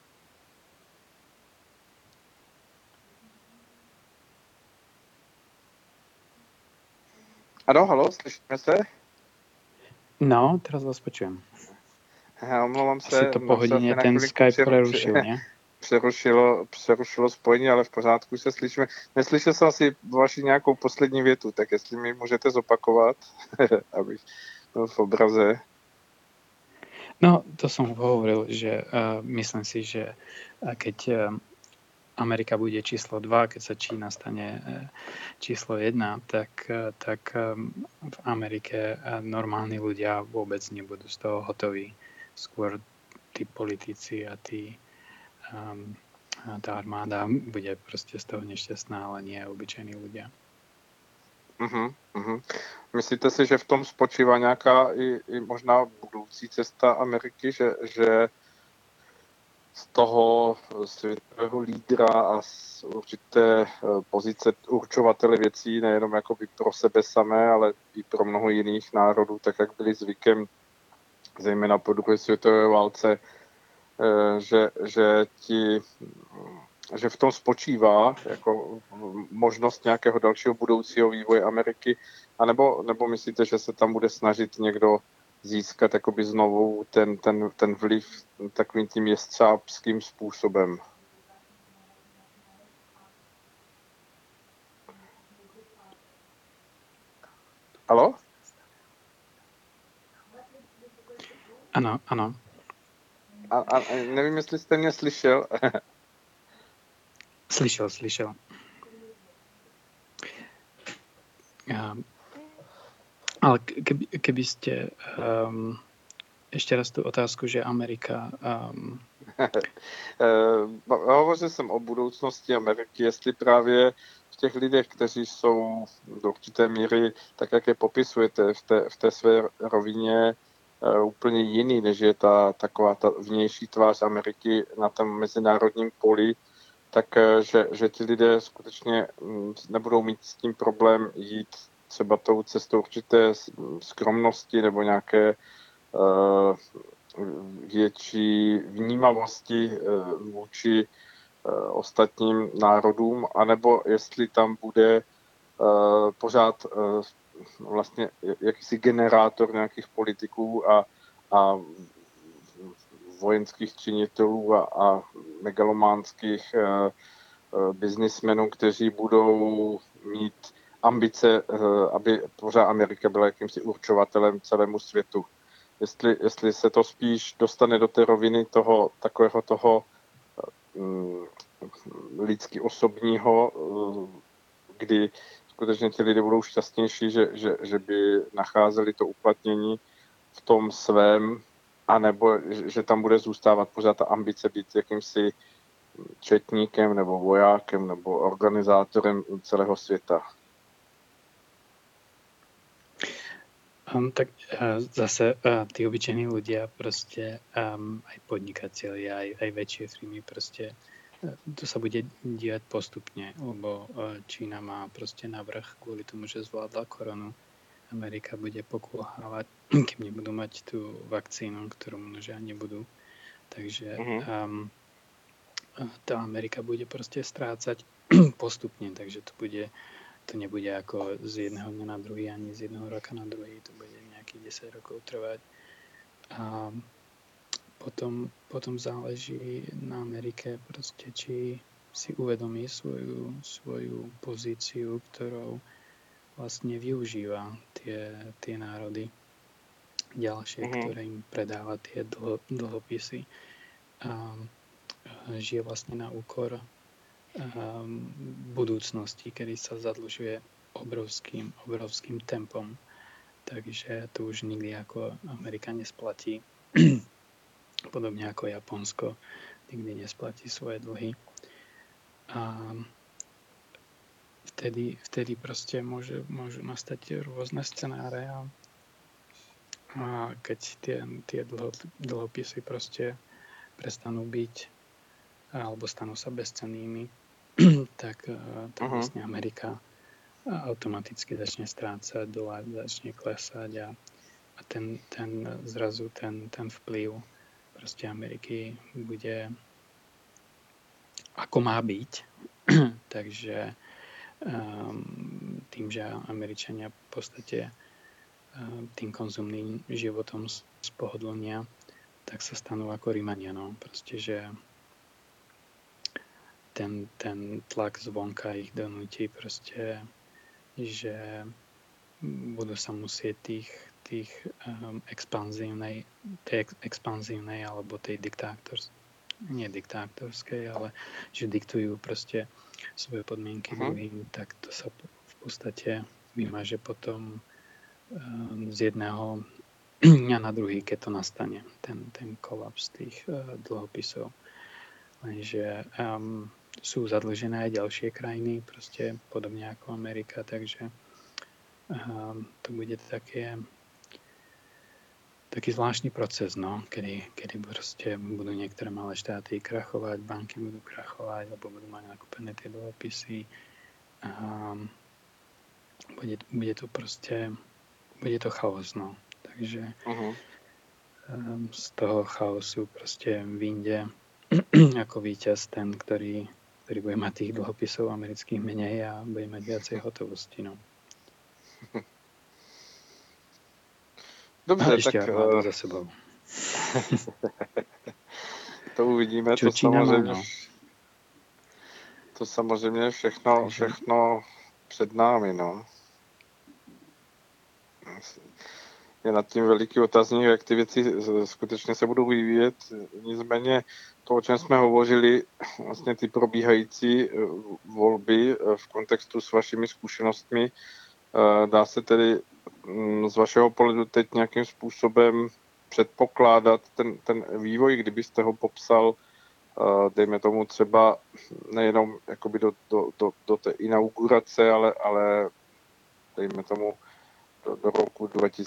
Ano, halo, slyšíme se? No, teraz vás počujem. Omlouvám Asi se, to po nám se hodině asi na ten chvilinku Skype prerušil, ne? přerušilo spojení, ale v pořádku se slyšíme. Neslyšel jsem asi vaši nějakou poslední větu, tak jestli mi můžete zopakovat, abych byl v obraze. No, to som hovoril, že myslím si, že keď Amerika bude číslo 2, keď sa Čína stane číslo 1, tak v Amerike normálni ľudia vôbec nebudú z toho hotoví. Skôr tí politici a tá armáda bude proste z toho nešťastná, ale nie obyčejní ľudia. Myslíte si, že v tom spočívá nějaká i možná budoucí cesta Ameriky, že z toho světového lídra a z určité pozice určovatele věcí, nejenom jakoby pro sebe samé, ale i pro mnoho jiných národů, tak jak byli zvykem, zejména po druhé světové válce, že v tom spočívá jako možnost nějakého dalšího budoucího vývoje Ameriky, nebo myslíte, že se tam bude snažit někdo získat jakoby znovu ten vliv takovým tím jestřábským způsobem? Haló? Ano, ano. A nevím, jestli jste mě slyšel. Slyšel. Ale keby ste ešte raz tú otázku, že Amerika... Hovořil jsem o budoucnosti Ameriky, jestli právě v těch lidech, kteří jsou do určité míry, tak jak je popisujete v té své rovině, úplně jiný, než je taková ta vnější tvář Ameriky na tom mezinárodním poli, tak že ti lidé skutečně nebudou mít s tím problém jít třeba tou cestou určité skromnosti nebo nějaké větší vnímavosti vůči ostatním národům, anebo jestli tam bude pořád vlastně jakýsi generátor nějakých politiků a vojenských činitelů a megalománských biznismenů, kteří budou mít ambice, aby pořád Amerika byla jakýmsi určovatelem celému světu. Jestli se to spíš dostane do té roviny takového toho lidsky osobního, kdy skutečně ti lidé budou šťastnější, že by nacházeli to uplatnění v tom svém, anebo že tam bude zůstávat pořád ta ambice být jakýmsi četníkem nebo vojákem nebo organizátorem celého světa. Tak zase tí obyčejní ľudia proste aj podnikatelia, aj väčšie firmy proste to sa bude diať postupne, lebo Čína má proste navrch kvôli tomu, že zvládla koronu. Amerika bude pokulhávať, kým nebudú mať tú vakcínu, ktorú množia nebudú. Takže tá Amerika bude proste strácať postupne, takže to nebude ako z jedného dňa na druhý, ani z jedného roka na druhý, to bude nejakých 10 rokov trvať. A potom záleží na Amerike proste, či si uvedomí svoju pozíciu, ktorou vlastne využíva tie národy ďalšie, ktoré im predáva tie dlhopisy a žije vlastne na úkor budúcnosti, kedy sa zadlžuje obrovským tempom. Takže to už nikdy ako Amerika nesplatí. Podobne ako Japonsko nikdy nesplatí svoje dlhy. A vtedy proste môžu nastať rôzne scenáre a keď tie dlhopisy proste prestanú byť alebo stanú sa bezcennými, tak vlastne Amerika automaticky začne strácať, dolár začne klesať a zrazu ten vplyv proste Ameriky bude ako má byť. Takže tým, že Američania v podstate tým konzumným životom spohodlnia, tak sa stanú ako Rímania. No. Proste, že ten tlak zvonka ich donúti proste, že budú sa musieť tej expanzívnej alebo tej diktátorskej, ale že diktujú proste svoje podmienky druhým, tak to sa v podstate vymaže potom z jedného dňa na druhý, keď to nastane, ten kolaps tých dlhopisov. Lenže sú zadlžené aj ďalšie krajiny, proste podobne ako Amerika, takže to bude taký zvláštny proces, no, kedy proste budú niektoré malé štáty krachovať, banky budú krachovať, lebo budú mať nakúpené tie dlhopisy. Bude to chaos, no. Takže z toho chaosu proste vyjde ako víťaz ten, ktorý bude mať tých dlhopisov amerických menej a bude mať viacej hotovosti, no. Dobře, ešte armádu za sebou. To uvidíme, to samozřejmě všechno před námi, no. Je nad tím veliký otazník, jak ty věci skutečně se budou vyvíjet. Nicméně to, o čem jsme hovořili, vlastně ty probíhající volby v kontextu s vašimi zkušenostmi, dá se tedy z vašeho pohledu teď nějakým způsobem předpokládat ten vývoj, kdybyste ho popsal, dejme tomu třeba nejenom jakoby do té inaugurace, ale dejme tomu do roku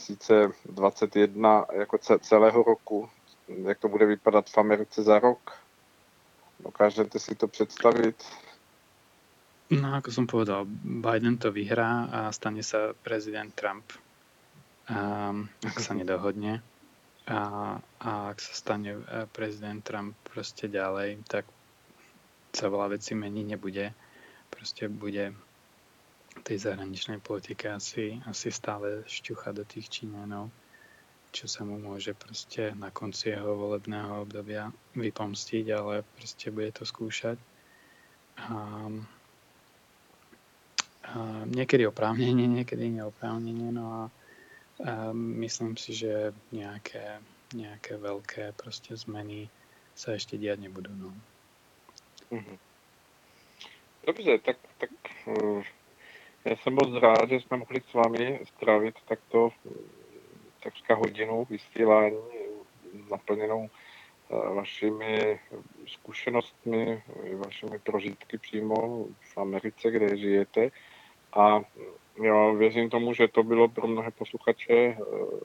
2021 jako celého roku, jak to bude vypadat v Americe za rok? Dokážete si to představit? No, ako som povedal, Biden to vyhrá a stane sa prezident Trump, ak sa nedohodne. A ak sa stane prezident Trump proste ďalej, tak sa veľa vecí meniť nebude. Proste bude tej zahraničnej politike asi stále šťuchať do tých Číňanov, čo sa mu môže proste na konci jeho volebného obdobia vypomstiť, ale proste bude to skúšať. Niekedy oprávnenie, niekedy neoprávnenie, no a myslím si, že nejaké veľké proste zmeny sa ešte diať nebudú. No. Dobře, tak já jsem moc rád, že jsme mohli s vámi strávit takto takřka hodinu vysílání naplněnou vašimi zkušenostmi, vašimi prožitky přímo v Americe, kde žijete. A já věřím tomu, že to bylo pro mnohé posluchače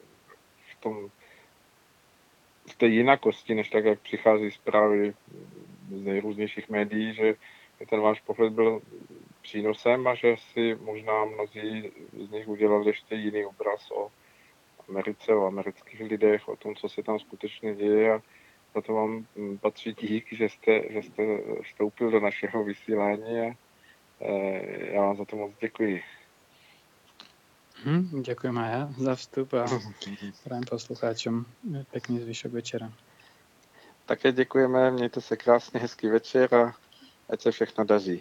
v té jinakosti, než tak, jak přichází zprávy z nejrůznějších médií, že ten váš pohled byl přínosem a že si možná mnozí z nich udělali ještě jiný obraz o Americe, o amerických lidech, o tom, co se tam skutečně děje, a za to vám patří dík, že jste vstoupil do našeho vysílání a já vám za to moc děkuji. Ďakujem aj ja za vstup a prajem poslucháčom pekný zvyšok večera. Také děkujeme, mějte se krásně, hezký večer a ať se všechno daří.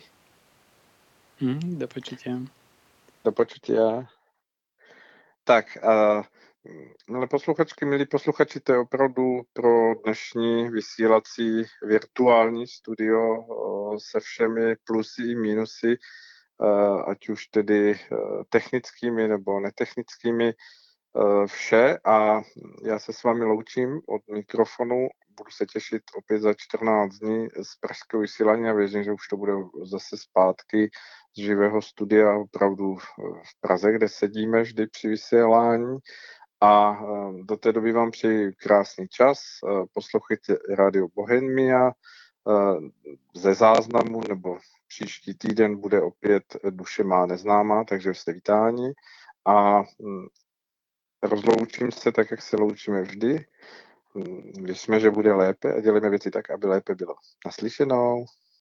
Do počutia. Do počutia. Tak, Ale posluchačky, milí posluchači, to je opravdu pro dnešní vysílací virtuální studio se všemi plusy i mínusy, ať už tedy technickými nebo netechnickými, vše a já se s vámi loučím od mikrofonu. Budu se těšit opět za 14 dní z pražského vysílání a věřím, že už to bude zase zpátky z živého studia opravdu v Praze, kde sedíme vždy při vysílání. A do té doby vám přeji krásný čas. Poslouchejte Radio Bohemia ze záznamu, nebo příští týden bude opět Duše má neznámá, takže jste vítáni. A rozloučím se tak, jak se loučíme vždy. Věříme, že bude lépe a děláme věci tak, aby lépe bylo. Naslyšenou.